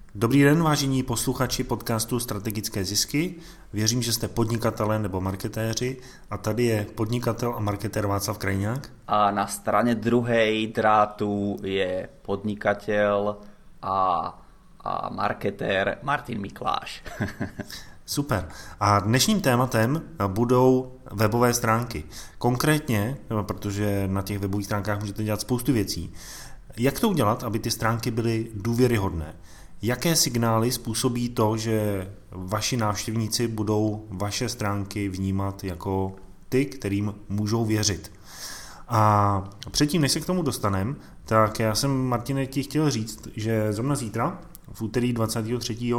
Dobrý den, vážení posluchači podcastu Strategické zisky. Věřím, že jste podnikatelé nebo marketéři a tady je podnikatel a marketér Václav Krajňák. A na straně druhé drátu je podnikatel a marketér Martin Mikláš. Super. A dnešním tématem budou webové stránky. Konkrétně, protože na těch webových stránkách můžete dělat spoustu věcí, jak to udělat, aby ty stránky byly důvěryhodné? Jaké signály způsobí to, že vaši návštěvníci budou vaše stránky vnímat jako ty, kterým můžou věřit? A předtím, než se k tomu dostaneme, tak já jsem, Martine, ti chtěl říct, že zrovna zítra, v úterý 23.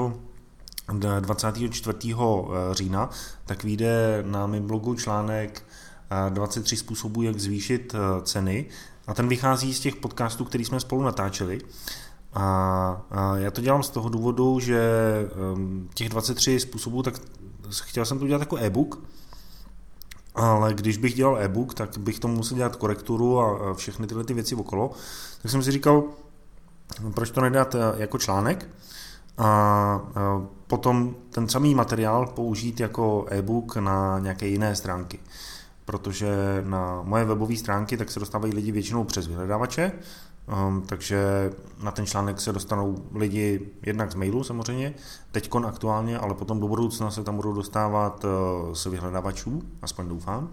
24. října, tak vyjde na mém blogu článek 23 způsobů, jak zvýšit ceny. A ten vychází z těch podcastů, který jsme spolu natáčeli. A já to dělám z toho důvodu, že těch 23 způsobů, tak chtěl jsem to udělat jako e-book, ale když bych dělal e-book, tak bych tomu musel dělat korekturu a všechny tyhle ty věci okolo. Tak jsem si říkal, proč to nedat jako článek a potom ten samý materiál použít jako e-book na nějaké jiné stránky. Protože na moje webové stránky tak se dostávají lidi většinou přes vyhledávače, takže na ten článek se dostanou lidi jednak z mailu samozřejmě, teďkon aktuálně, ale potom do budoucna se tam budou dostávat z vyhledávačů, aspoň doufám.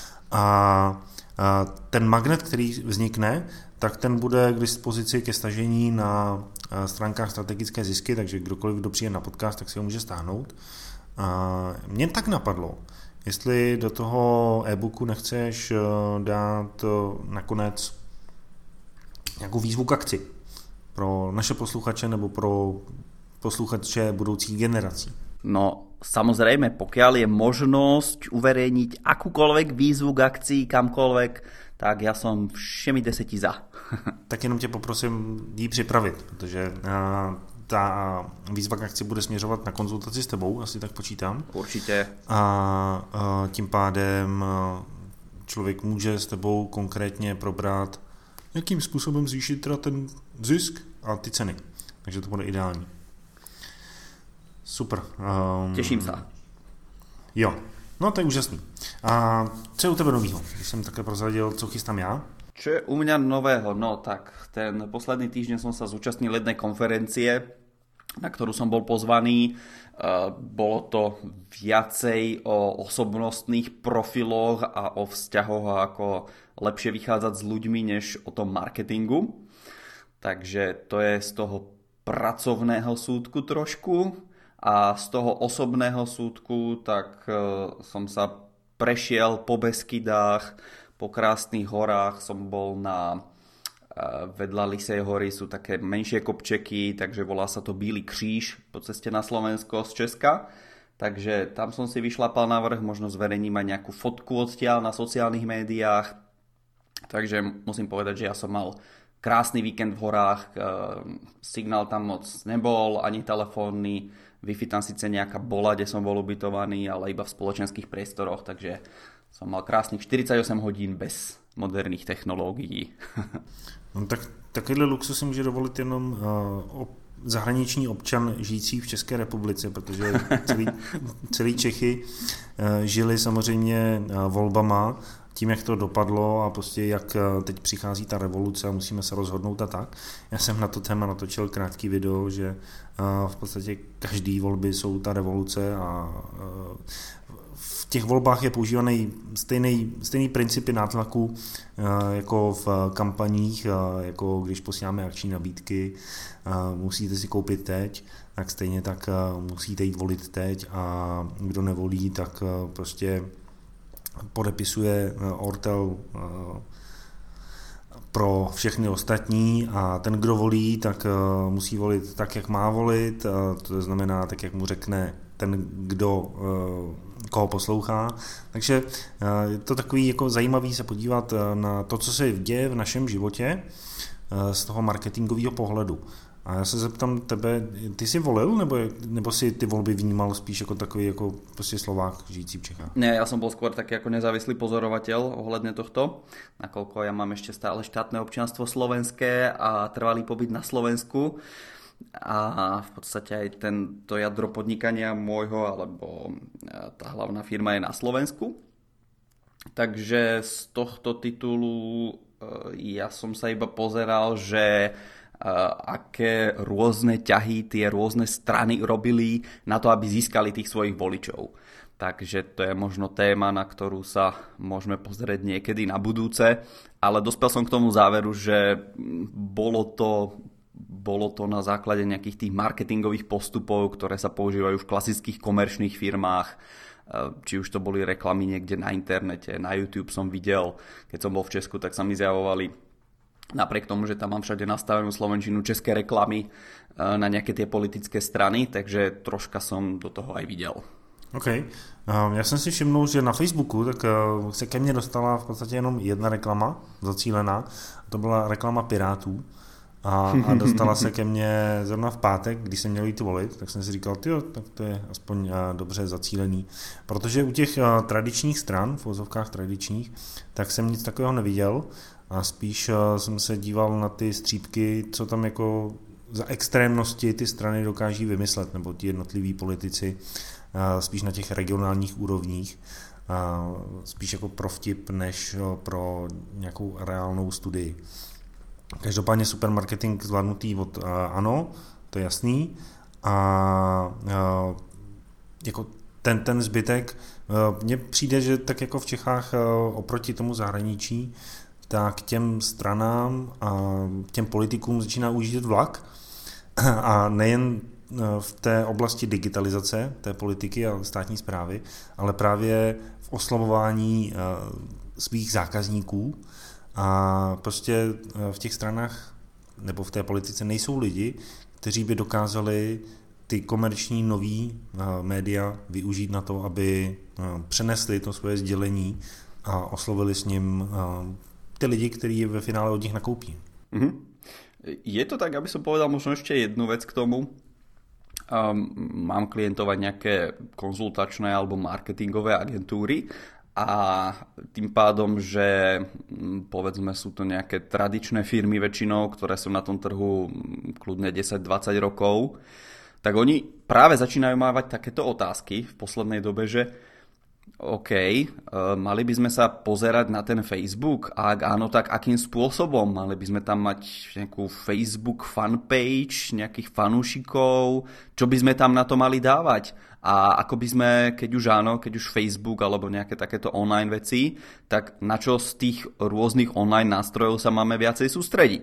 A ten magnet, který vznikne, tak ten bude k dispozici ke stažení na stránkách Strategické zisky, takže kdokoliv, kdo přijde na podcast, tak si ho může stáhnout. Mně tak napadlo, jestli do toho e-booku nechceš dát nakonec nějakou výzvu k akci pro naše posluchače nebo pro posluchače budoucích generací. No, samozrejme, pokiaľ je možnosť uverejniť akúkoľvek výzvu k akcii kamkoľvek, tak ja som všemi 10 za. Tak jenom tě poprosím jí připravit, protože ta výzva k akci bude směřovat na konzultaci s tebou, asi tak počítám. Určite. A tím pádem člověk může s tebou konkrétně probrat, jakým způsobem zvýšit teda ten zisk a ty ceny. Takže to bude ideální. Super. Těším se. Jo, no to je úžasný. A co je u tebe novýho? Když jsem také prozradil, co chystám já. Čo je u mňa nového? No tak ten posledný týždeň som sa zúčastnil jednej konferencie, na ktorú som bol pozvaný. Bolo to viacej o osobnostných profiloch a o vzťahoch a ako lepšie vychádzať s ľuďmi, než o tom marketingu. Takže to je z toho pracovného súdku trošku. A z toho osobného súdku tak som sa prešiel po Beskydách, po krásnych horách. Som bol na vedľa Lisej hory sú také menšie kopčeky, takže volá sa to Bílý kříž po ceste na Slovensko z Česka. Takže tam som si vyšlapal na vrch, možno zverejním aj nejakú fotku odtiaľ na sociálnych médiách. Takže musím povedať, že ja som mal krásny víkend v horách, signál tam moc nebol, ani telefónny, Wi-Fi tam síce nejaká bola, kde som bol ubytovaný, ale iba v spoločenských priestoroch, takže som mal krásnych 48 hodín bez moderných technológií. No, tak takovýhle luxus si může dovolit jenom zahraniční občan žijící v České republice, protože celý Čechy žili samozřejmě volbama, tím, jak to dopadlo a prostě jak teď přichází ta revoluce a musíme se rozhodnout a tak. Já jsem na to téma natočil krátký video, že v podstatě každý volby jsou ta revoluce a v těch volbách je používaný stejný principy nátlaku jako v kampaních, jako když posíláme akční nabídky, musíte si koupit teď, tak stejně tak musíte jít volit teď a kdo nevolí, tak prostě podepisuje ortel pro všechny ostatní a ten, kdo volí, tak musí volit tak, jak má volit, to znamená tak, jak mu řekne ten, kdo koho poslouchá. Takže je to takový jako zajímavý se podívat na to, co se děje v našem životě z toho marketingového pohledu. A já se zeptám tebe, ty jsi volil, nebo si ty volby vnímal spíš jako takový jako prostě Slovák žijící v Čechách? Nie, ja som bol skôr taký ako nezávislý pozorovateľ ohľadne tohto, nakoľko ja mám ešte stále štátne občianstvo slovenské a trvalý pobyt na Slovensku. a v podstate aj to jadro podnikania môjho, alebo tá hlavná firma je na Slovensku. Takže z tohto titulu ja som sa iba pozeral, že aké rôzne ťahy tie rôzne strany robili na to, aby získali tých svojich voličov. Takže to je možno téma, na ktorú sa môžeme pozrieť niekedy na budúce, ale dospel som k tomu záveru, že bolo to na základe nejakých tých marketingových postupov, ktoré sa používajú v klasických komerčných firmách, či už to boli reklamy niekde na internete, na YouTube som videl, keď som bol v Česku, tak sa mi zjavovali, napriek tomu, že tam mám všade nastavenú slovenčinu, české reklamy na nejaké tie politické strany, takže troška som do toho aj videl. OK. Já jsem si všimnul, že na Facebooku tak se ke mně dostala v podstatě jenom jedna reklama zacílená. To byla reklama Pirátů. A dostala se ke mně zrovna v pátek, když jsem měl jít volit, tak jsem si říkal, tak to je aspoň dobře zacílený. Protože u těch tradičních stran, v uvozovkách tradičních, tak jsem nic takového neviděl. A spíš jsem se díval na ty střípky, co tam jako za extrémnosti ty strany dokáží vymyslet, nebo ti jednotliví politici, spíš na těch regionálních úrovních, spíš jako pro vtip, než pro nějakou reálnou studii. Každopádně supermarketing zvládnutý od ANO, to je jasný, a jako ten zbytek, mně přijde, že tak jako v Čechách oproti tomu zahraničí, tak těm stranám a těm politikům začíná ujíždět vlak, a nejen v té oblasti digitalizace té politiky a státní správy, ale právě v oslovování svých zákazníků. A prostě v těch stranách nebo v té politice nejsou lidi, kteří by dokázali ty komerční nový média využít na to, aby přenesli to svoje sdělení a oslovili s ním ty lidi, kteří ve finále od nich nakoupí. Mm-hmm. Je to tak, aby som povedal možno ešte jednu vec k tomu. Mám klientovať nejaké konzultačné alebo marketingové agentúry a tým pádom, že povedzme sú to nejaké tradičné firmy väčšinou, ktoré sú na tom trhu kľudne 10-20 rokov, tak oni práve začínajú mávať takéto otázky v poslednej dobe, že OK, mali by sme sa pozerať na ten Facebook a ak áno, tak akým spôsobom? Mali by sme tam mať nejakú Facebook fanpage, nejakých fanúšikov, čo by sme tam na to mali dávať? A ako by sme, keď už áno, keď už Facebook alebo nejaké takéto online veci, tak na čo z tých rôznych online nástrojov sa máme viacej sústrediť?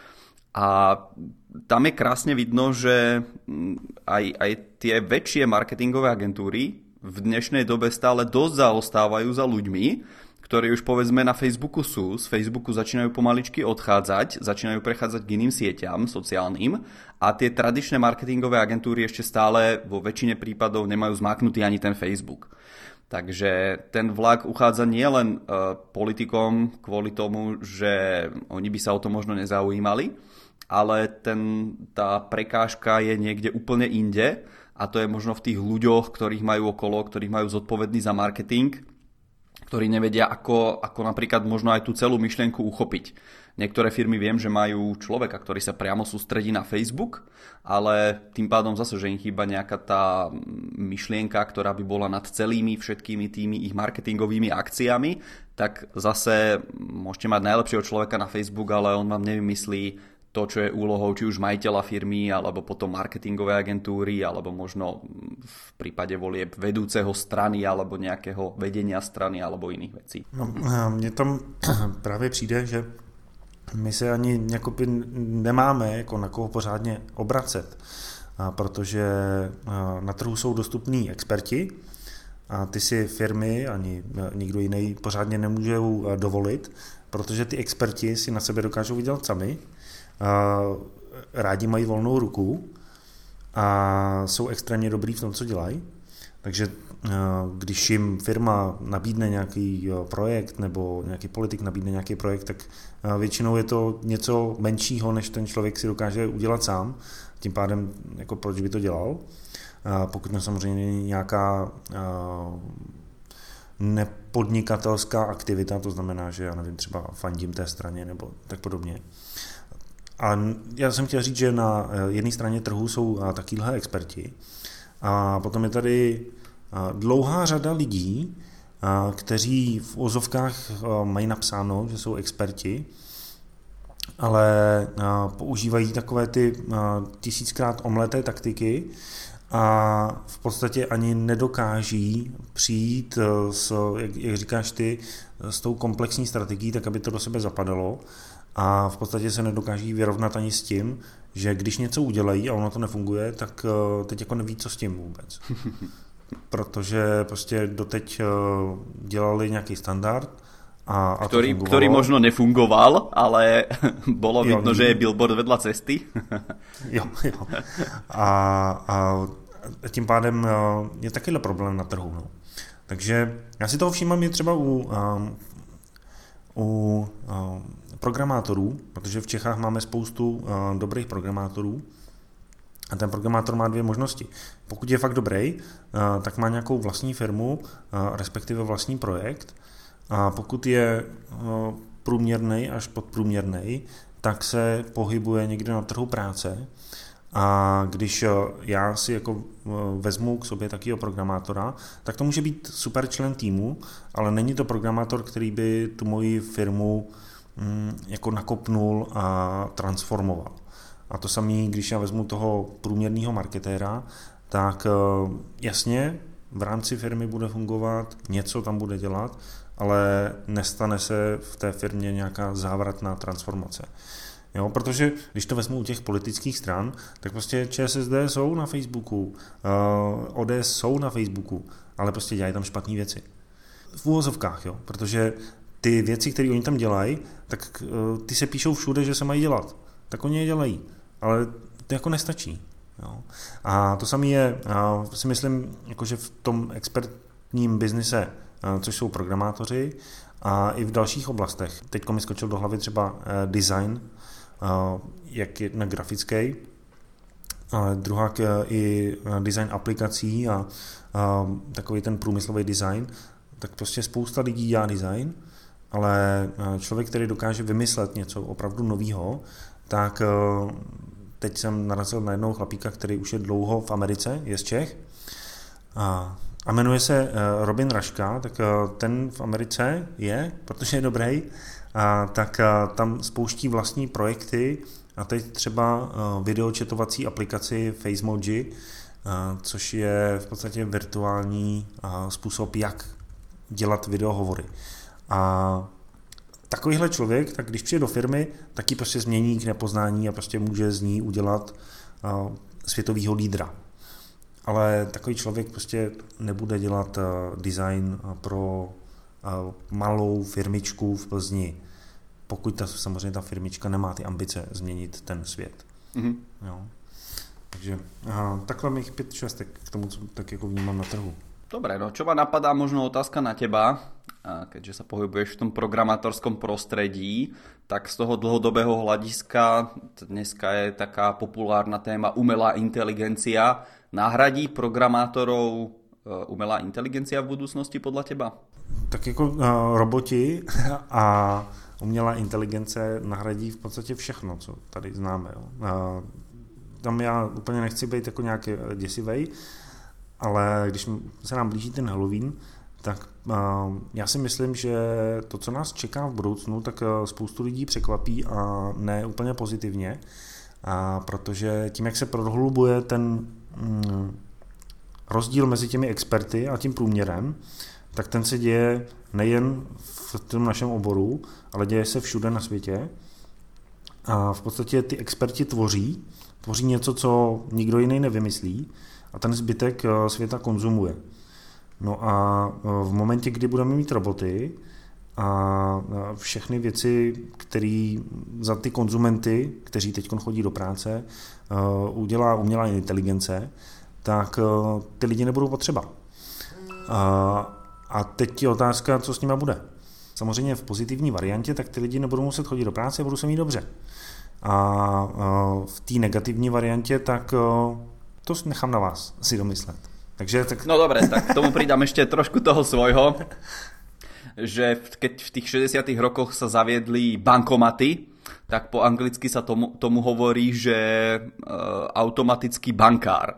A tam je krásne vidno, že aj tie väčšie marketingové agentúry v dnešnej dobe stále dosť zaostávajú za ľuďmi, ktorí už povedzme na Facebooku sú, z Facebooku začínajú pomaličky odchádzať, začínajú prechádzať k iným sieťam sociálnym a tie tradičné marketingové agentúry ešte stále vo väčšine prípadov nemajú zmáknutý ani ten Facebook. Takže ten vlak uchádza nielen politikom kvôli tomu, že oni by sa o to možno nezaujímali, ale tá prekážka je niekde úplne inde, a to je možno v tých ľuďoch, ktorých majú okolo, ktorých majú zodpovední za marketing, ktorí nevedia, ako napríklad možno aj tú celú myšlienku uchopiť. Niektoré firmy viem, že majú človeka, ktorý sa priamo sústredí na Facebook, ale tým pádom zase, že im chýba nejaká tá myšlienka, ktorá by bola nad celými všetkými tými ich marketingovými akciami, tak zase môžete mať najlepšieho človeka na Facebook, ale on vám nevymyslí to, čo je úlohou či už majiteľa firmy, alebo potom marketingové agentúry, alebo možno v prípade volieb vedúceho strany, alebo nejakého vedenia strany, alebo iných vecí. No, mně tam právě přijde, že my se ani jakoby nemáme jako na koho pořádně obracet, protože na trhu jsou dostupní experti a ty si firmy ani nikdo jiný pořádně nemůžou dovolit, protože ty experti si na sebe dokážou vydělat sami, rádi mají volnou ruku a jsou extrémně dobrý v tom, co dělají. Takže když jim firma nabídne nějaký projekt nebo nějaký politik nabídne nějaký projekt, tak většinou je to něco menšího, než ten člověk si dokáže udělat sám. Tím pádem, jako proč by to dělal? Pokud to samozřejmě není nějaká nepodnikatelská aktivita, to znamená, že já nevím, třeba fandím té straně nebo tak podobně. A já jsem chtěl říct, že na jedné straně trhu jsou takovýhle experti a potom je tady dlouhá řada lidí, kteří v ozovkách mají napsáno, že jsou experti, ale používají takové ty 1000krát omleté taktiky a v podstatě ani nedokáží přijít jak říkáš ty, s tou komplexní strategií, tak aby to do sebe zapadalo a v podstatě se nedokáží vyrovnat ani s tím, že když něco udělají a ono to nefunguje, tak teď jako neví, co s tím vůbec. Protože prostě doteď dělali nějaký standard a ktorý možno nefungoval, ale bolo vidno, že je billboard vedľa cesty. jo. A tím pádem je takovýhle problém na trhu. No. Takže já si toho všímám je třeba u programátorů, protože v Čechách máme spoustu dobrých programátorů a ten programátor má dvě možnosti. Pokud je fakt dobrý, tak má nějakou vlastní firmu, respektive vlastní projekt, a pokud je průměrnej až podprůměrnej, tak se pohybuje někde na trhu práce. A když já si jako vezmu k sobě takového programátora, tak to může být super člen týmu, ale není to programátor, který by tu moji firmu jako nakopnul a transformoval. A to samé, když já vezmu toho průměrného marketéra, tak jasně v rámci firmy bude fungovat, něco tam bude dělat, ale nestane se v té firmě nějaká závratná transformace. Jo, protože když to vezmu u těch politických stran, tak prostě ČSSD jsou na Facebooku, ODS jsou na Facebooku, ale prostě dělají tam špatné věci. V úvozovkách, jo, protože ty věci, které oni tam dělají, tak ty se píšou všude, že se mají dělat. Tak oni je dělají, ale to jako nestačí. Jo. A to samé je, si myslím, jakože v tom expertním biznise, což jsou programátoři, a i v dalších oblastech. Teď mi skočil do hlavy třeba design, jak je na grafický, ale druhá i design aplikací a takový ten průmyslový design, tak prostě spousta lidí dělá design, ale člověk, který dokáže vymyslet něco opravdu novýho, tak teď jsem narazil na jednoho chlapíka, který už je dlouho v Americe, je z Čech a jmenuje se Robin Raška, tak ten v Americe je, protože je dobrý, tak tam spouští vlastní projekty a teď třeba videočetovací aplikaci FaceMoji, což je v podstatě virtuální způsob, jak dělat videohovory. A takovýhle člověk, tak když přijde do firmy, tak ji prostě změní k nepoznání a prostě může z ní udělat světovýho lídra. Ale takový člověk prostě nebude dělat design pro malou firmičku v Plzni, pokud samozřejmě ta firmička nemá ty ambice změnit ten svět. Mm-hmm. Jo. Takže takhle mých 5 šestek k tomu, co tak jako vnímám na trhu. Dobre, no čo ma napadá možno otázka na teba, keďže sa pohybuješ v tom programátorskom prostredí, tak z toho dlhodobého hľadiska dneska je taká populárna téma umelá inteligencia. Nahradí programátorov umelá inteligencia v budúcnosti podľa teba? Tak jako roboti a umělá inteligence nahradí v podstatě všechno, co tady známe. Jo. Tam já úplně nechci být jako nějaký děsivej, ale když se nám blíží ten Halloween, tak já si myslím, že to, co nás čeká v budoucnu, tak spoustu lidí překvapí a ne úplně pozitivně, protože tím, jak se prohlubuje ten rozdíl mezi těmi experty a tím průměrem, tak ten se děje nejen v tom našem oboru, ale děje se všude na světě. A v podstatě ty experti tvoří něco, co nikdo jiný nevymyslí, a ten zbytek světa konzumuje. No a v momentě, kdy budeme mít roboty a všechny věci, které za ty konzumenty, kteří teď chodí do práce, udělá umělá inteligence, tak ty lidi nebudou potřeba. A teď je otázka, co s nima bude. Samozřejmě v pozitivní variantě, tak ty lidi nebudou muset chodit do práce a budou se mít dobře. A v té negativní variantě, tak to nechám na vás si domyslet. Takže, tak... No dobre, tak k tomu pridám ešte trošku toho svojho, že keď v tých 60. rokoch sa zaviedli bankomaty, tak po anglicky sa tomu hovorí, že automatický bankár.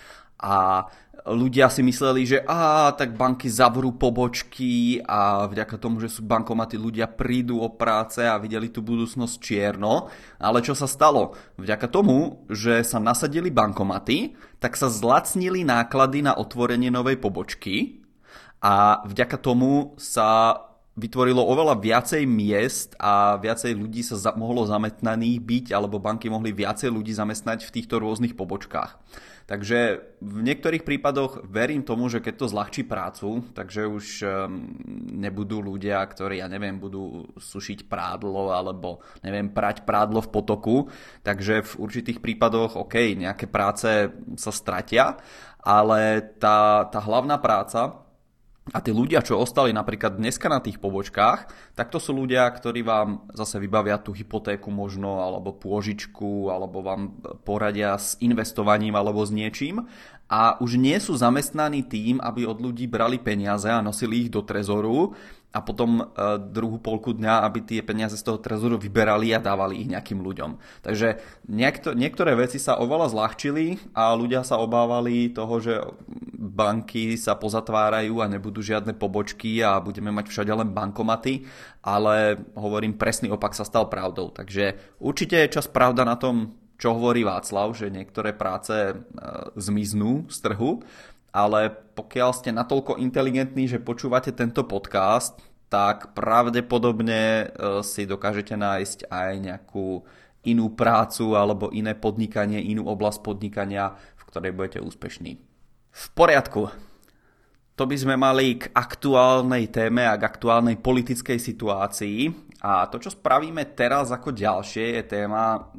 A ľudia si mysleli, že tak banky zavrú pobočky a vďaka tomu, že sú bankomaty, ľudia prídu o práce a videli tú budúcnosť čierno. Ale čo sa stalo? Vďaka tomu, že sa nasadili bankomaty, tak sa zlacnili náklady na otvorenie novej pobočky a vďaka tomu sa vytvorilo oveľa viacej miest a viacej ľudí sa mohlo zamestnaných byť, alebo banky mohli viacej ľudí zamestnať v týchto rôznych pobočkách. Takže v niektorých prípadoch verím tomu, že keď to zľahčí prácu, takže už nebudú ľudia, ktorí, budú sušiť prádlo alebo, prať prádlo v potoku. Takže v určitých prípadoch, nejaké práce sa stratia, ale tá hlavná práca a tí ľudia, čo ostali napríklad dneska na tých pobočkách, tak to sú ľudia, ktorí vám zase vybavia tú hypotéku možno, alebo pôžičku, alebo vám poradia s investovaním alebo s niečím. A už nie sú zamestnaní tým, aby od ľudí brali peniaze a nosili ich do trezoru a potom druhú polku dňa, aby tie peniaze z toho trezoru vyberali a dávali ich nejakým ľuďom. Takže niektoré veci sa oveľa zľahčili a ľudia sa obávali toho, že banky sa pozatvárajú a nebudú žiadne pobočky a budeme mať všade len bankomaty, ale hovorím, presný opak sa stal pravdou. Takže určite je čas pravda na tom, čo hovorí Václav, že niektoré práce zmiznú z trhu, ale pokiaľ ste natoľko inteligentní, že počúvate tento podcast, tak pravdepodobne si dokážete nájsť aj nejakú inú prácu alebo iné podnikanie, inú oblasť podnikania, v ktorej budete úspešní. V poriadku. To by sme mali k aktuálnej téme a k aktuálnej politickej situácii. A to, čo spravíme teraz ako ďalšie, je téma,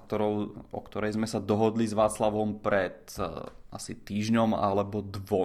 o ktorej sme sa dohodli s Václavom pred asi týždňom alebo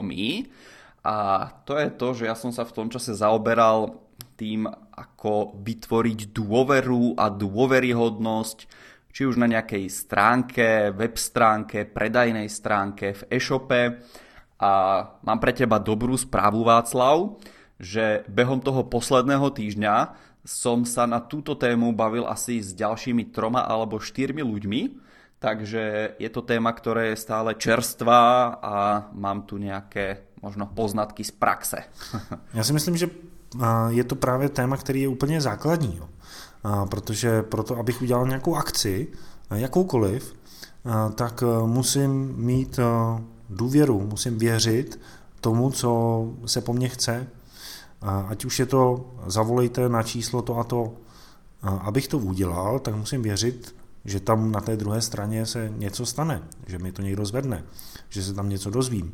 2. A to je to, že ja som sa v tom čase zaoberal tým, ako vytvoriť dôveru a dôveryhodnosť, či už na nejakej stránke, web stránke, predajnej stránke, v e-shope. A mám pre teba dobrú správu, Václav, že behom toho posledného týždňa som sa na túto tému bavil asi s ďalšími 3 alebo 4 ľuďmi, takže je to téma, ktorá je stále čerstvá a mám tu nejaké možno poznatky z praxe. Já si myslím, že je to právě téma, který je úplně základní, protože proto, abych udělal nějakou akci, jakoukoliv, tak musím mít důvěru, musím věřit tomu, co se po mně chce. Ať už je to zavolejte na číslo to a to. Abych to udělal, tak musím věřit, že tam na té druhé straně se něco stane, že mi to někdo zvedne, že se tam něco dozvím.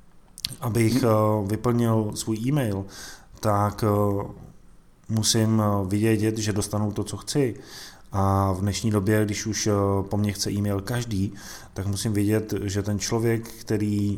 Abych vyplnil svůj e-mail, tak musím vědět, že dostanu to, co chci. A v dnešní době, když už po mně chce e-mail každý, tak musím vědět, že ten člověk, který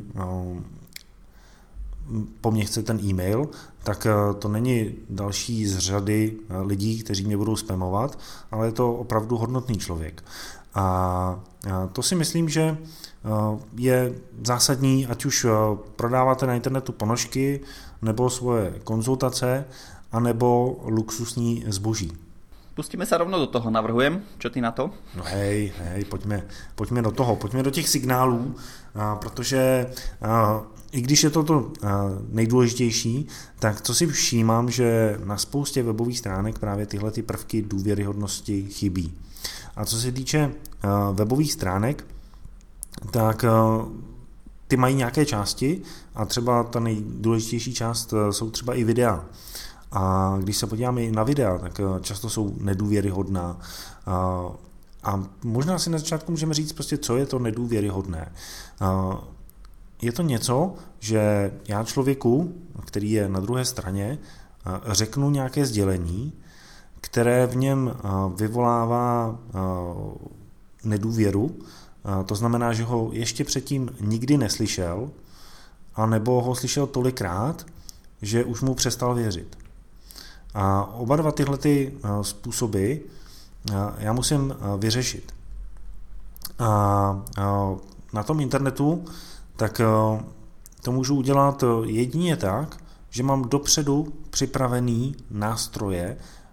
po mně chce ten e-mail, tak to není další z řady lidí, kteří mě budou spamovat, ale je to opravdu hodnotný člověk. A to si myslím, že je zásadní, ať už prodáváte na internetu ponožky, nebo svoje konzultace, anebo luxusní zboží. Pustíme sa rovno do toho, navrhujem. Čo ty na to? No hej, pojďme do toho, pojďme do těch signálů, protože i když je to nejdůležitější, tak co si všímám, že na spoustě webových stránek právě tyhle ty prvky důvěryhodnosti chybí. A co se týče webových stránek, tak ty mají nějaké části a třeba ta nejdůležitější část jsou třeba i videa. A když se podíváme i na videa, tak často jsou nedůvěryhodná. A možná si na začátku můžeme říct prostě, co je to nedůvěryhodné. Je to něco, že já člověku, který je na druhé straně, řeknu nějaké sdělení, které v něm vyvolává nedůvěru. To znamená, že ho ještě předtím nikdy neslyšel, anebo ho slyšel tolikrát, že už mu přestal věřit. A oba dva tyhle způsoby já musím vyřešit. A na tom internetu tak to můžu udělat jedině tak, že mám dopředu připravený nástroje,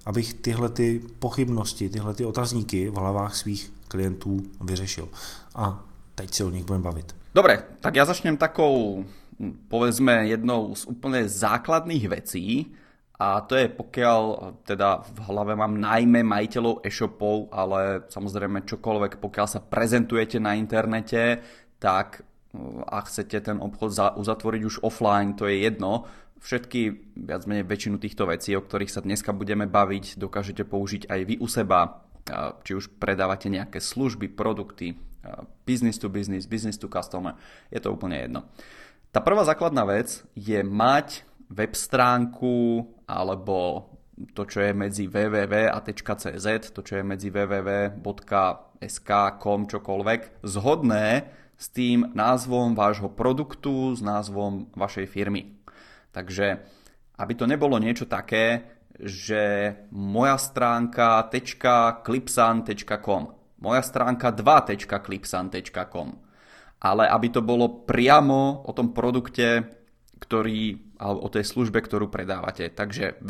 abych tyhle ty pochybnosti, tyhle ty otazníky v hlavách svých klientů vyřešil. A teď se o nich budeme bavit. Dobre, tak ja začnem takou, povedzme, jednou z úplne základných vecí, a to je, pokiaľ teda v hlave mám najmä majiteľov e-shopov, ale samozrejme čokoľvek, pokiaľ sa prezentujete na internete, tak a chcete ten obchod uzatvoriť už offline, to je jedno. Všetky, viac menej väčšinu týchto vecí, o ktorých sa dneska budeme baviť, dokážete použiť aj vy u seba, či už predávate nejaké služby, produkty, business to business, business to customer, je to úplne jedno. Tá prvá základná vec je mať web stránku alebo to, čo je medzi www a .cz, to, čo je medzi www.sk, .com, čokoľvek, zhodné s tým názvom vášho produktu, s názvom vašej firmy. Takže, aby to nebolo niečo také, že moja stránka .clipsan.com, moja stránka 2.clipsan.com, ale aby to bolo priamo o tom produkte, alebo o tej službe, ktorú predávate. Takže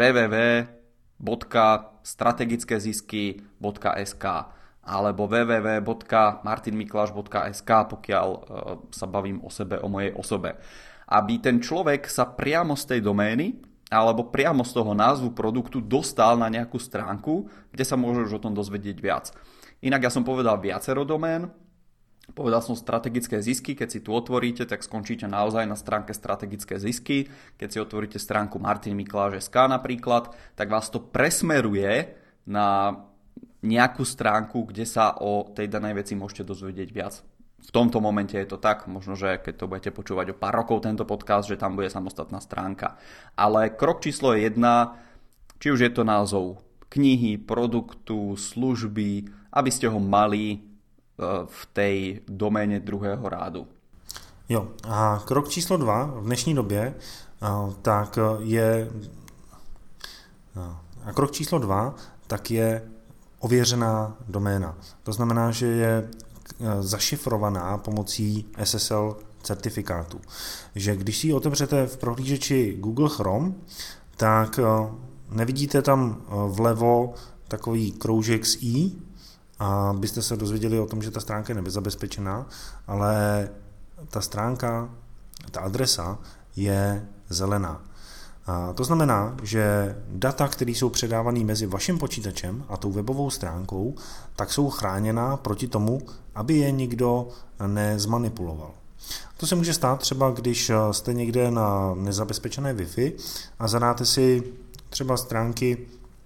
www.strategickezisky.sk alebo www.martinmiklaš.sk, pokiaľ sa bavím o sebe, o mojej osobe. Aby ten človek sa priamo z tej domény alebo priamo z toho názvu produktu dostal na nejakú stránku, kde sa môže už o tom dozvedieť viac. Inak ja som povedal viacero domén, povedal som strategické zisky, keď si tu otvoríte, tak skončíte naozaj na stránke strategické zisky. Keď si otvoríte stránku martinmiklaš.sk napríklad, tak vás to presmeruje na nejakú stránku, kde sa o tej danej veci môžete dozvedieť viac. V tomto momente je to tak, možno, že keď to budete počúvať o pár rokov tento podcast, že tam bude samostatná stránka. Ale krok číslo 1, či už je to názov knihy, produktu, služby, aby ste ho mali v tej doméne druhého rádu. Jo, a krok číslo 2 v dnešní době, tak je ověřená doména. To znamená, že je zašifrovaná pomocí SSL certifikátu. Že když si ji otevřete v prohlížeči Google Chrome, tak nevidíte tam vlevo takový kroužek s i, a byste se dozvěděli o tom, že ta stránka je nebezabezpečená, ale ta stránka, ta adresa je zelená. A to znamená, že data, které jsou předávané mezi vaším počítačem a tou webovou stránkou, tak jsou chráněná proti tomu, aby je nikdo nezmanipuloval. To se může stát třeba, když jste někde na nezabezpečené Wi-Fi a zadáte si třeba stránky,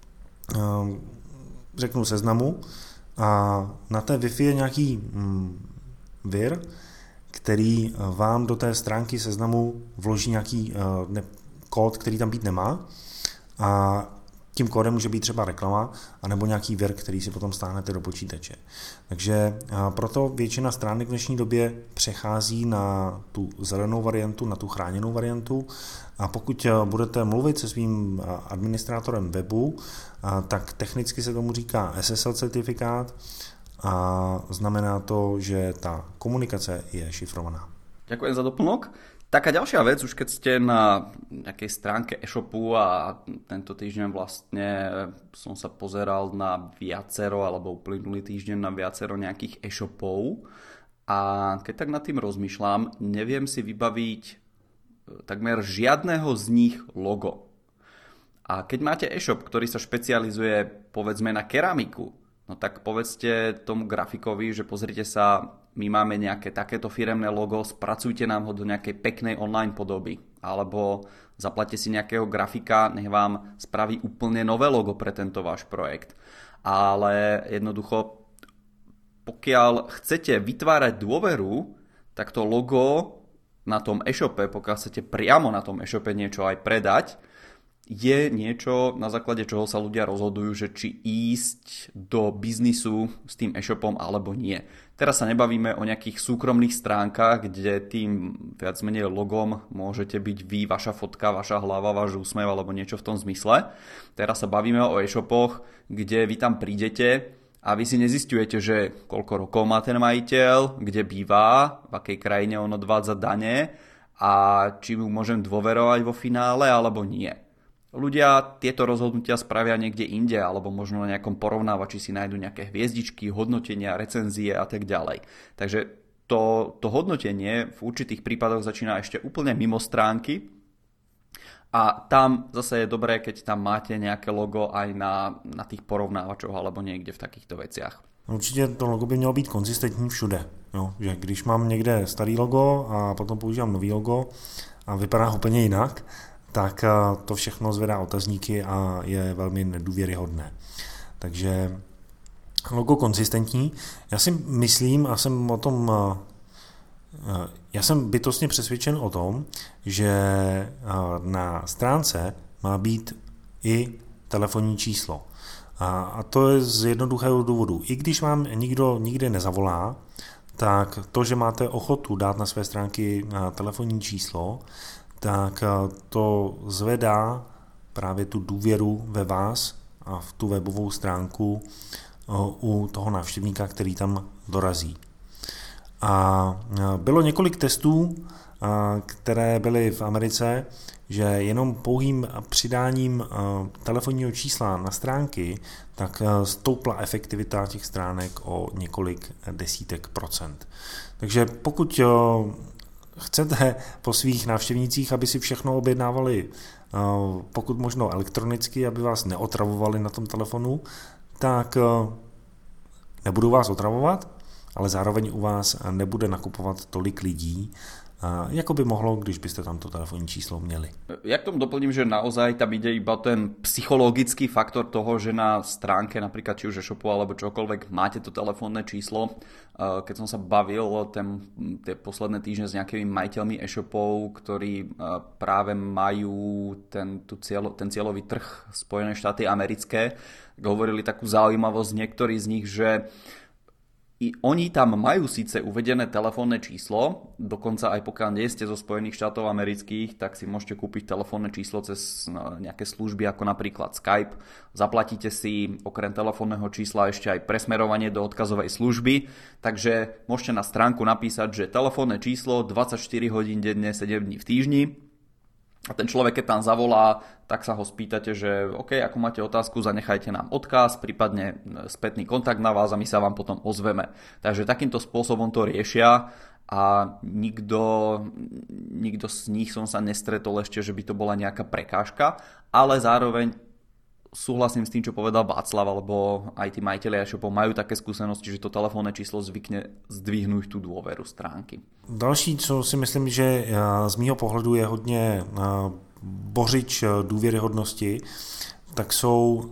řeknu Seznamu, a na té Wi-Fi je nějaký vir, který vám do té stránky Seznamu vloží nějaký kód, který tam být nemá, a tím kódem může být třeba reklama anebo nějaký vir, který si potom stáhnete do počítače. Takže proto většina stránek v dnešní době přechází na tu zelenou variantu, na tu chráněnou variantu, a pokud budete mluvit se svým administrátorem webu, tak technicky se tomu říká SSL certifikát a znamená to, že ta komunikace je šifrovaná. Ďakujem za doplnok. Taká ďalšia vec, už keď ste na nejakej stránke e-shopu, a tento týždeň vlastne som sa pozeral na viacero, alebo uplynulý týždeň na viacero nejakých e-shopov, a keď tak nad tým rozmýšľam, neviem si vybaviť takmer žiadného z nich logo. A keď máte e-shop, ktorý sa špecializuje povedzme na keramiku, no tak povedzte tomu grafikovi, že pozrite sa, my máme nejaké takéto firemné logo, spracujte nám ho do nejakej peknej online podoby. Alebo zaplaťte si nejakého grafika, nech vám spraví úplne nové logo pre tento váš projekt. Ale jednoducho, pokiaľ chcete vytvárať dôveru, tak to logo na tom e-shope, pokiaľ chcete priamo na tom e-shope niečo aj predať, je niečo, na základe čoho sa ľudia rozhodujú, že či ísť do biznisu s tým e-shopom alebo nie. Teraz sa nebavíme o nejakých súkromných stránkach, kde tým viac menej logom môžete byť vy, vaša fotka, vaša hlava, váš úsmev alebo niečo v tom zmysle. Teraz sa bavíme o e-shopoch, kde vy tam prídete a vy si nezisťujete, že koľko rokov má ten majiteľ, kde býva, v akej krajine on odvádza dane a či mu môžem dôverovať vo finále alebo nie. ľudia tieto rozhodnutia spravia niekde inde, alebo možno na nejakom porovnávači si nájdu nejaké hviezdičky, hodnotenia, recenzie a tak ďalej. Takže to hodnotenie v určitých prípadoch začína ešte úplne mimo stránky a tam zase je dobré, keď tam máte nejaké logo aj na tých porovnávačoch alebo niekde v takýchto veciach. Určitě to logo by mělo být konzistentní všude. Jo? Že když mám někde starý logo a potom používám nový logo a vypadá úplně jinak, tak to všechno zvedá otazníky a je velmi nedůvěryhodné. Takže logo konzistentní. Já si myslím a jsem o tom, já jsem bytostně přesvědčen o tom, že na stránce má být i telefonní číslo. A to je z jednoduchého důvodu. I když vám nikdo nikdy nezavolá, tak to, že máte ochotu dát na své stránky telefonní číslo, tak to zvedá právě tu důvěru ve vás a v tu webovou stránku u toho návštěvníka, který tam dorazí. A bylo několik testů, které byly v Americe, že jenom pouhým přidáním telefonního čísla na stránky, tak stoupla efektivita těch stránek o několik desítek procent. Takže pokud chcete po svých návštěvnících, aby si všechno objednávali pokud možno elektronicky, aby vás neotravovali na tom telefonu, tak nebudou vás otravovat, ale zároveň u vás nebude nakupovat tolik lidí, jako by mohlo, když byste tam to telefonní číslo měli. Ja k tomu doplním, že naozaj tam ide iba ten psychologický faktor toho, že na stránke napríklad či už e-shopu alebo čokoľvek máte to telefónne číslo. Keď som sa bavil tie posledné týždne s nejakými majiteľmi e-shopov, ktorí práve majú ten cieľový trh Spojené štáty americké, hovorili takú zaujímavosť niektorí z nich, že i oni tam majú síce uvedené telefónne číslo, dokonca aj pokiaľ nie ste zo Spojených štátov amerických, tak si môžete kúpiť telefónne číslo cez nejaké služby ako napríklad Skype. Zaplatíte si okrem telefónneho čísla ešte aj presmerovanie do odkazovej služby, takže môžete na stránku napísať, že telefónne číslo 24 hodín denne, 7 dní v týždni. A ten človek, keď tam zavolá, tak sa ho spýtate, že OK, ako máte otázku, zanechajte nám odkaz, prípadne spätný kontakt na vás a my sa vám potom ozveme. Takže takýmto spôsobom to riešia a nikto z nich som sa nestretol ešte, že by to bola nejaká prekážka, ale zároveň súhlasím s tým, čo povedal Václav, alebo aj tí majiteľi e-shopov majú také skúsenosti, že to telefónne číslo zvykne zdvihnúť tú dôveru stránky. Další, co si myslím, že z mýho pohledu je hodně bořič důvěryhodnosti, tak jsou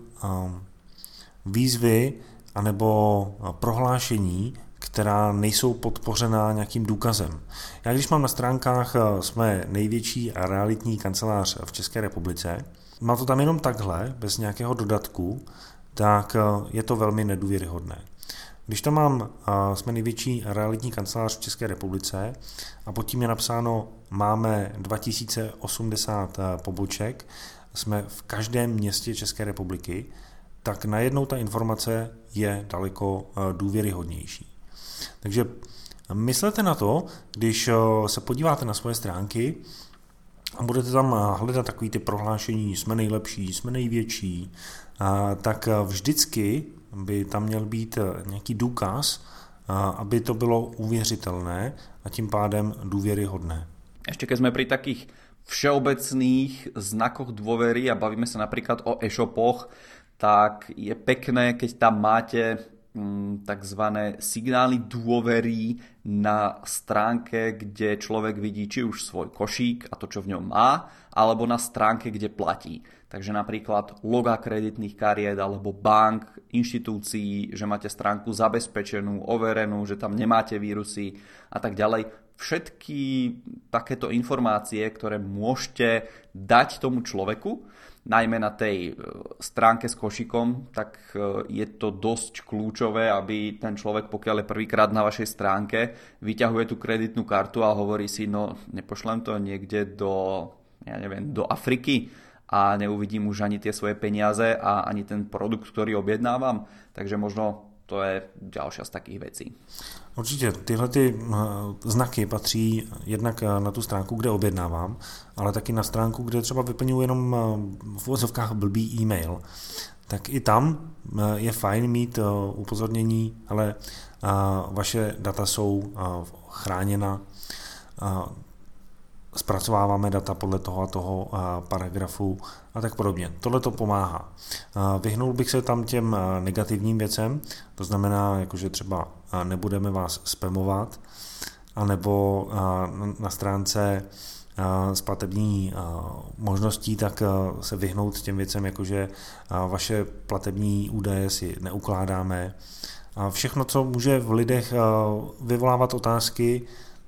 výzvy anebo prohlášení, která nejsou podpořená nějakým důkazem. Já když mám na stránkách jsme největší realitní kancelář v České republice, mám to tam jenom takhle, bez nějakého dodatku, tak je to velmi nedůvěryhodné. Když tam mám, jsme největší realitní kancelář v České republice a pod tím je napsáno, máme 2080 poboček, jsme v každém městě České republiky, tak najednou ta informace je daleko důvěryhodnější. Takže myslete na to, když se podíváte na svoje stránky a budete tam hledat takový ty prohlášení, jsme nejlepší, jsme největší, tak vždycky by tam měl být nějaký důkaz, aby to bylo uvěřitelné a tím pádem důvěryhodné. Ešte keď sme pri takých všeobecných znakoch dôvery a bavíme sa napríklad o e-shopoch, tak je pekné, keď tam máte takzvané signály dôvery na stránke, kde človek vidí či už svoj košík a to, čo v ňom má, alebo na stránke, kde platí. Takže napríklad loga kreditných kariet alebo bank, inštitúcií, že máte stránku zabezpečenú, overenú, že tam nemáte vírusy a tak ďalej. Všetky takéto informácie, ktoré môžete dať tomu človeku, najmä na tej stránke s košikom, tak je to dosť kľúčové, aby ten človek, pokiaľ je prvýkrát na vašej stránke, vyťahuje tú kreditnú kartu a hovorí si, no nepošlem to niekde do Afriky a neuvidím už ani tie svoje peniaze a ani ten produkt, ktorý objednávam. Takže možno to je ďalšia z takých vecí. Určitě tyhle ty znaky patří jednak na tu stránku, kde objednávám, ale taky na stránku, kde třeba vyplňuji jenom v uvozovkách blbý e-mail. Tak i tam je fajn mít upozornění, ale vaše data jsou chráněna, zpracováváme data podle toho a toho paragrafu a tak podobně. Tohle to pomáhá. Vyhnul bych se tam těm negativním věcem, to znamená, jakože třeba nebudeme vás spamovat, anebo na stránce s platební možností, tak se vyhnout těm věcem, jakože vaše platební údaje si neukládáme. Všechno, co může v lidech vyvolávat otázky,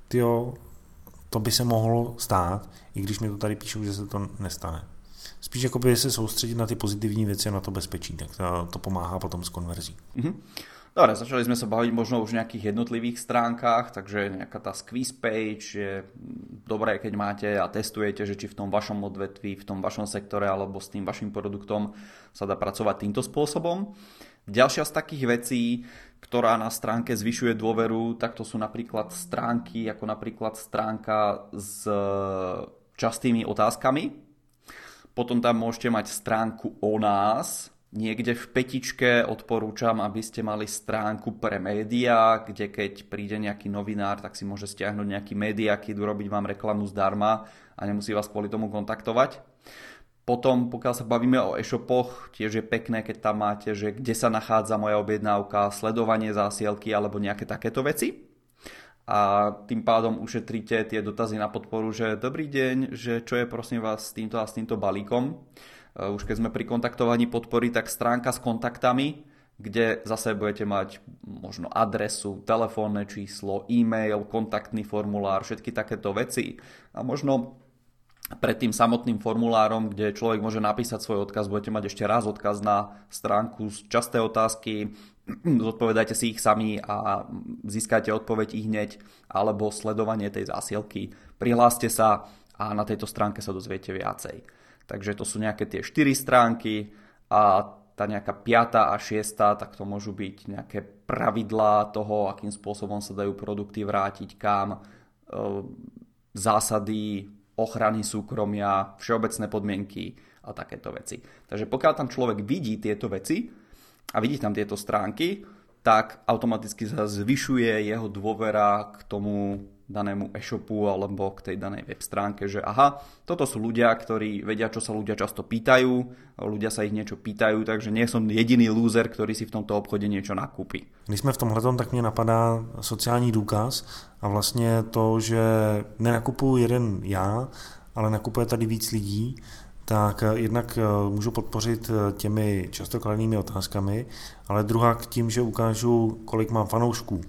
to by se mohlo stát, i když mi to tady píšou, že se to nestane. Spíš jakoby se soustředit na ty pozitivní věci a na to bezpečí, tak to pomáhá potom s konverzí. Dobre, začali sme sa baviť možno už v nejakých jednotlivých stránkach, takže nejaká tá squeeze page je dobré, keď máte a testujete, že či v tom vašom odvetví, v tom vašom sektore alebo s tým vašim produktom sa dá pracovať týmto spôsobom. Ďalšia z takých vecí, ktorá na stránke zvyšuje dôveru, tak to sú napríklad stránky, ako napríklad stránka s častými otázkami. Potom tam môžete mať stránku o nás. Niekde v petičke odporúčam, aby ste mali stránku pre médiá, kde keď príde nejaký novinár, tak si môže stiahnuť nejaký médiakit, urobiť vám reklamu zdarma a nemusí vás kvôli tomu kontaktovať. Potom, pokiaľ sa bavíme o e-shopoch, tiež je pekné, keď tam máte, že kde sa nachádza moja objednávka, sledovanie zásielky alebo nejaké takéto veci. A tým pádom ušetríte tie dotazy na podporu, že dobrý deň, že čo je prosím vás s týmto a s týmto balíkom. Už keď sme pri kontaktovaní podpory, tak stránka s kontaktami, kde zase budete mať možno adresu, telefónne číslo, e-mail, kontaktný formulár, všetky takéto veci. A možno pred tým samotným formulárom, kde človek môže napísať svoj odkaz, budete mať ešte raz odkaz na stránku z časté otázky, zodpovedajte si ich sami a získate odpoveď i hneď, alebo sledovanie tej zásielky. Prihláste sa a na tejto stránke sa dozviete viacej. Takže to sú nejaké tie 4 stránky a tá nejaká 5. a 6, tak to môžu byť nejaké pravidlá toho, akým spôsobom sa dajú produkty vrátiť kam, zásady ochrany súkromia, všeobecné podmienky a takéto veci. Takže pokiaľ tam človek vidí tieto veci a vidí tam tieto stránky, tak automaticky sa zvyšuje jeho dôvera k tomu danému e-shopu alebo k tej danej web stránke, že aha, toto sú ľudia, ktorí vedia, čo sa ľudia často pýtajú, ľudia sa ich niečo pýtajú, takže nie som jediný lúzer, ktorý si v tomto obchode niečo nakúpi. Když jsme v tomhletom, tak mě napadá sociální důkaz a vlastně to, že nenakupuju jeden já, ale nakupuje tady víc lidí, tak jednak můžu podpořit těmi často kladnými otázkami, ale druhá k tím, že ukážu, kolik mám fanoušků.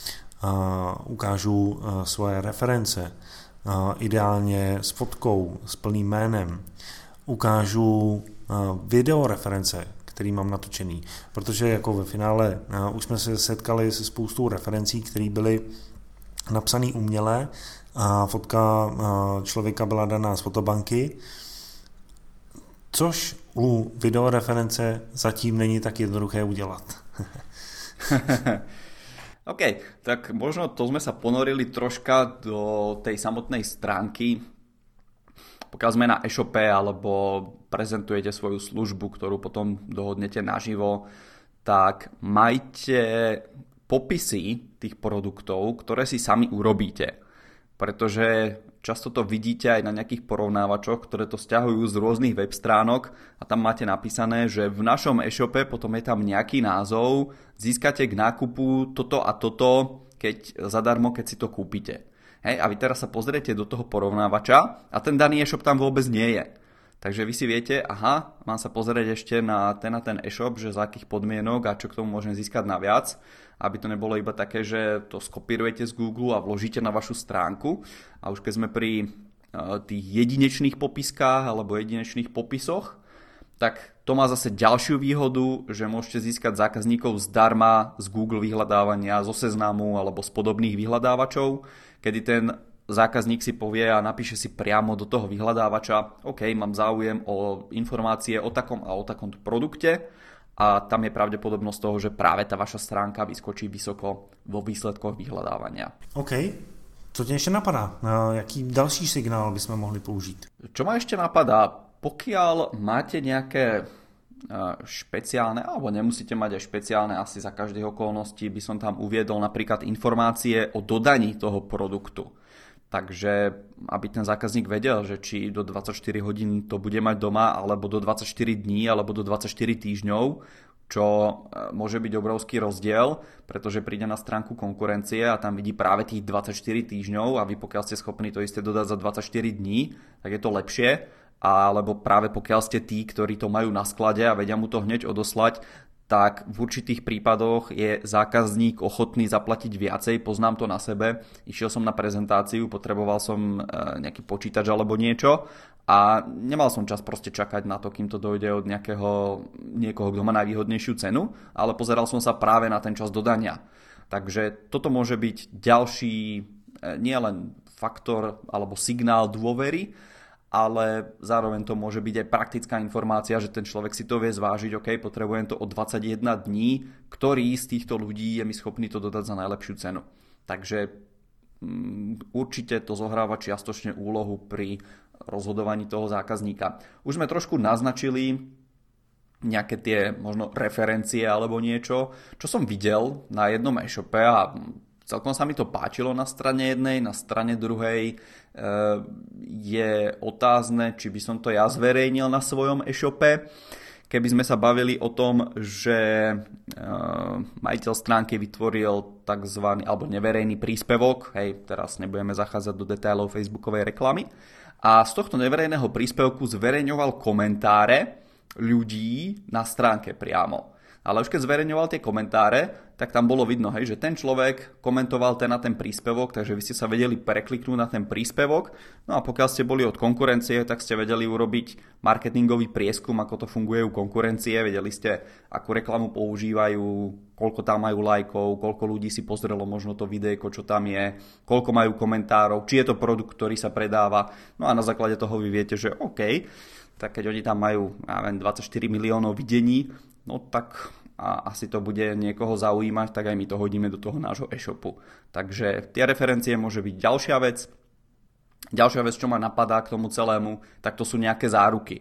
Ukážu svoje reference, ideálně s fotkou, s plným jménem. Ukážu videoreference, který mám natočený, protože jako ve finále už jsme se setkali se spoustou referencí, které byly napsané uměle a fotka člověka byla daná z fotobanky, což u videoreference zatím není tak jednoduché udělat. OK, tak možno to sme sa ponorili troška do tej samotnej stránky. Pokiaľ sme na e-shope alebo prezentujete svoju službu, ktorú potom dohodnete naživo, tak majte popisy tých produktov, ktoré si sami urobíte. Pretože často to vidíte aj na nejakých porovnávačoch, ktoré to sťahujú z rôznych web stránok a tam máte napísané, že v našom e-shope potom je tam nejaký názov, získate k nákupu toto a toto, keď zadarmo, keď si to kúpite. Hej, a vy teraz sa pozriete do toho porovnávača a ten daný e-shop tam vôbec nie je. Takže vy si viete, aha, mám sa pozrieť ešte na ten e-shop, že za akých podmienok a čo k tomu môžem získať naviac, aby to nebolo iba také, že to skopírujete z Google a vložíte na vašu stránku. A už keď sme pri tých jedinečných popiskách alebo jedinečných popisoch, tak to má zase ďalšiu výhodu, že môžete získať zákazníkov zdarma z Google vyhľadávania, zo Seznamu alebo z podobných vyhľadávačov, kedy ten zákazník si povie a napíše si priamo do toho vyhľadávača, OK, mám záujem o informácie o takom a o takomto produkte a tam je pravdepodobnosť toho, že práve tá vaša stránka vyskočí vysoko vo výsledkoch vyhľadávania. OK. Co tě ještě napadá? Jaký další signál bychom mohli použít? Čo ma ešte napadá? Pokiaľ máte nejaké špeciálne, alebo nemusíte mať aj špeciálne, asi za každých okolností by som tam uviedol napríklad informácie o dodaní toho produktu. Takže aby ten zákazník vedel, že či do 24 hodín to bude mať doma, alebo do 24 dní, alebo do 24 týždňov, čo môže byť obrovský rozdiel, pretože príde na stránku konkurencie a tam vidí práve tých 24 týždňov a vy pokiaľ ste schopní to isté dodať za 24 dní, tak je to lepšie, alebo práve pokiaľ ste tí, ktorí to majú na sklade a vedia mu to hneď odoslať, tak v určitých prípadoch je zákazník ochotný zaplatiť viacej, poznám to na sebe. Išiel som na prezentáciu, potreboval som nejaký počítač alebo niečo a nemal som čas proste čakať na to, kým to dojde od niekoho, kto má najvýhodnejšiu cenu, ale pozeral som sa práve na ten čas dodania. Takže toto môže byť ďalší nielen faktor alebo signál dôvery, ale zároveň to môže byť aj praktická informácia, že ten človek si to vie zvážiť, OK, potrebujem to o 21 dní, ktorý z týchto ľudí je mi schopný to dodať za najlepšiu cenu. Takže určite to zohráva čiastočne úlohu pri rozhodovaní toho zákazníka. Už sme trošku naznačili nejaké tie možno referencie alebo niečo, čo som videl na jednom e-shope a celkom sa mi to páčilo na strane jednej, na strane druhej je otázne, či by som to ja zverejnil na svojom e-shope. Keby sme sa bavili o tom, že majiteľ stránky vytvoril takzvaný alebo neverejný príspevok, hej, teraz nebudeme zachádzať do detailov facebookovej reklamy, a z tohto neverejného príspevku zverejňoval komentáre ľudí na stránke priamo. Ale už keď zverejňoval tie komentáre, tak tam bolo vidno, hej, že ten človek komentoval ten príspevok, takže vy ste sa vedeli prekliknúť na ten príspevok. No a pokiaľ ste boli od konkurencie, tak ste vedeli urobiť marketingový prieskum, ako to funguje u konkurencie, vedeli ste, akú reklamu používajú, koľko tam majú lajkov, koľko ľudí si pozrelo možno to videjko, čo tam je, koľko majú komentárov, či je to produkt, ktorý sa predáva. No a na základe toho vy viete, že OK, tak keď oni tam majú 24 miliónov videní, no tak a asi to bude niekoho zaujímať, tak aj my to hodíme do toho nášho e-shopu. Takže tie referencie môže byť ďalšia vec. Ďalšia vec, čo ma napadá k tomu celému, tak to sú nejaké záruky.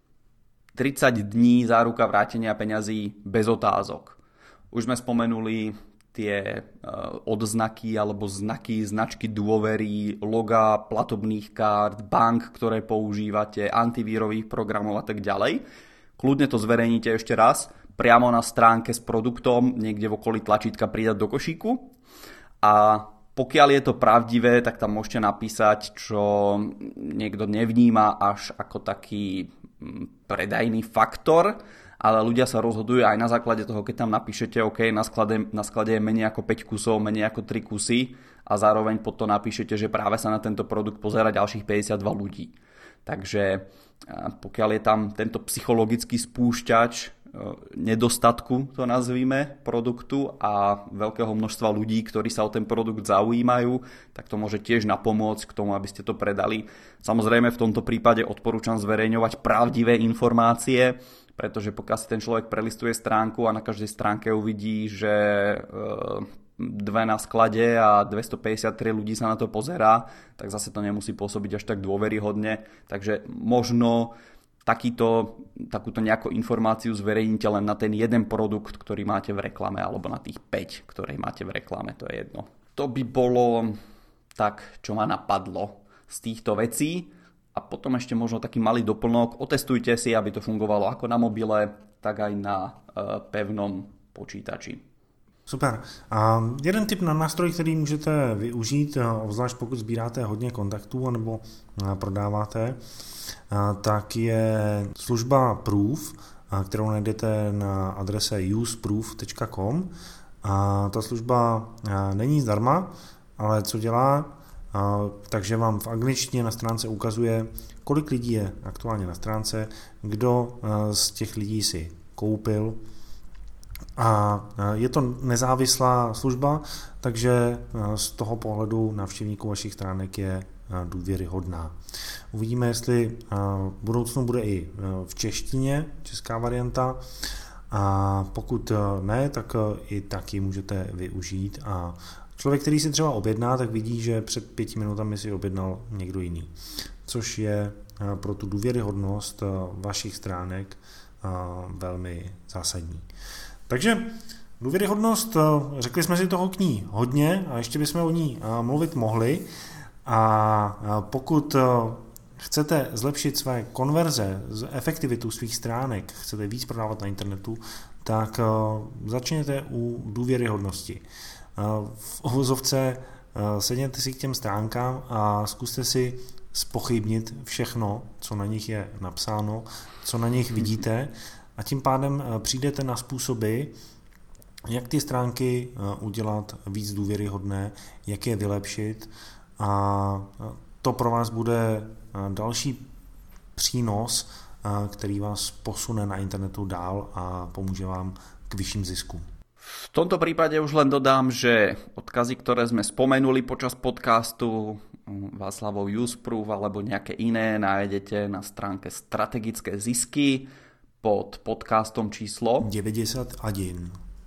30 dní záruka vrátenia peňazí bez otázok. Už sme spomenuli tie odznaky alebo značky dôvery, loga platobných kart, bank, ktoré používate, antivírových programov a tak ďalej. Kľudne to zverejníte ešte raz, priamo na stránke s produktom, niekde v okolí tlačítka pridať do košíku. A pokiaľ je to pravdivé, tak tam môžete napísať, čo niekto nevníma až ako taký predajný faktor, ale ľudia sa rozhodujú aj na základe toho, keď tam napíšete, OK, na sklade je menej ako 5 kusov, menej ako 3 kusy a zároveň potom napíšete, že práve sa na tento produkt pozerá ďalších 52 ľudí. Takže pokiaľ je tam tento psychologický spúšťač nedostatku, to nazvíme, produktu a veľkého množstva ľudí, ktorí sa o ten produkt zaujímajú, tak to môže tiež napomôcť k tomu, aby ste to predali. Samozrejme v tomto prípade odporúčam zverejňovať pravdivé informácie, pretože pokiaľ si ten človek prelistuje stránku a na každej stránke uvidí, že 2 na sklade a 253 ľudí sa na to pozerá, tak zase to nemusí pôsobiť až tak dôveryhodne. Takže možno takúto nejakú informáciu zverejníte len na ten jeden produkt, ktorý máte v reklame, alebo na tých 5, ktoré máte v reklame, to je jedno. To by bolo tak, čo ma napadlo z týchto vecí. A potom ešte možno taký malý doplnok. Otestujte si, aby to fungovalo ako na mobile, tak aj na pevnom počítači. Super. A jeden tip na nástroj, který můžete využít, obzvlášť pokud sbíráte hodně kontaktů nebo prodáváte, tak je služba Proof, kterou najdete na adrese useproof.com. A ta služba není zdarma, ale co dělá, takže vám v angličtině na stránce ukazuje, kolik lidí je aktuálně na stránce, kdo z těch lidí si koupil. A je to nezávislá služba, takže z toho pohledu návštěvníků vašich stránek je důvěryhodná. Uvidíme, jestli v budoucnu bude i v češtině, česká varianta, A pokud ne, tak i taky můžete využít. A člověk, který si třeba objedná, tak vidí, že před 5 minutami si objednal někdo jiný. Což je pro tu důvěryhodnost vašich stránek velmi zásadní. Takže důvěryhodnost, řekli jsme si toho k ní hodně a ještě bychom o ní mluvit mohli. A pokud chcete zlepšit své konverze, efektivitu svých stránek, chcete víc prodávat na internetu, tak začněte u důvěryhodnosti. V uvozovce sedněte si k těm stránkám a zkuste si zpochybnit všechno, co na nich je napsáno, co na nich vidíte, a tím pádem přijdete na způsoby, jak ty stránky udělat víc důvěryhodné, jak je vylepšit, a to pro vás bude další přínos, který vás posune na internetu dál a pomůže vám k vyšším ziskům. V tomto prípade už len dodám, že odkazy, ktoré sme spomenuli počas podcastu, Václavov Useproof alebo nejaké iné, nájdete na stránke Strategické zisky pod podcastom číslo 91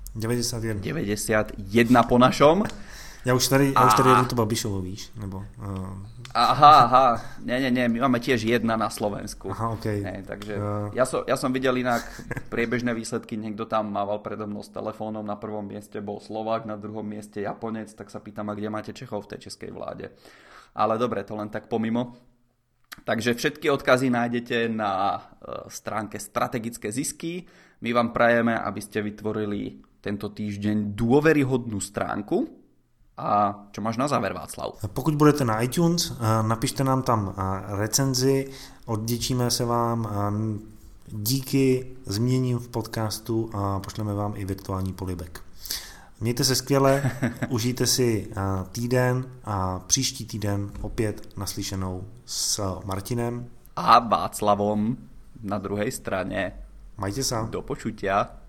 po našom. Já už tady jedu to Babišovo, víš? Nebo, Aha, nie, my máme tiež 1 na Slovensku. Aha, okej. Ne, takže ja som videl inak priebežné výsledky, niekto tam mával predo mnou s telefónom, na prvom mieste bol Slovák, na druhom mieste Japonec, tak sa pýtam, a kde máte Čechov v tej českej vláde. Ale dobre, to len tak pomimo. Takže všetky odkazy nájdete na stránke Strategické zisky. My vám prajeme, aby ste vytvorili tento týždeň dôveryhodnú stránku. A čo máš na záver, Václav? Pokud budete na iTunes, napište nám tam recenzi, odděčíme se vám, díky změním v podcastu a pošleme vám i virtuální polibek. Mějte se skvěle, užijte si týden a příští týden opět naslyšenou s Martinem a Václavom na druhej strane. Majte sa. Do počutia.